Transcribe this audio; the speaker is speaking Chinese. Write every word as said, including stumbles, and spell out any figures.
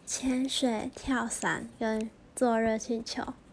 潜水、跳伞跟坐热气球。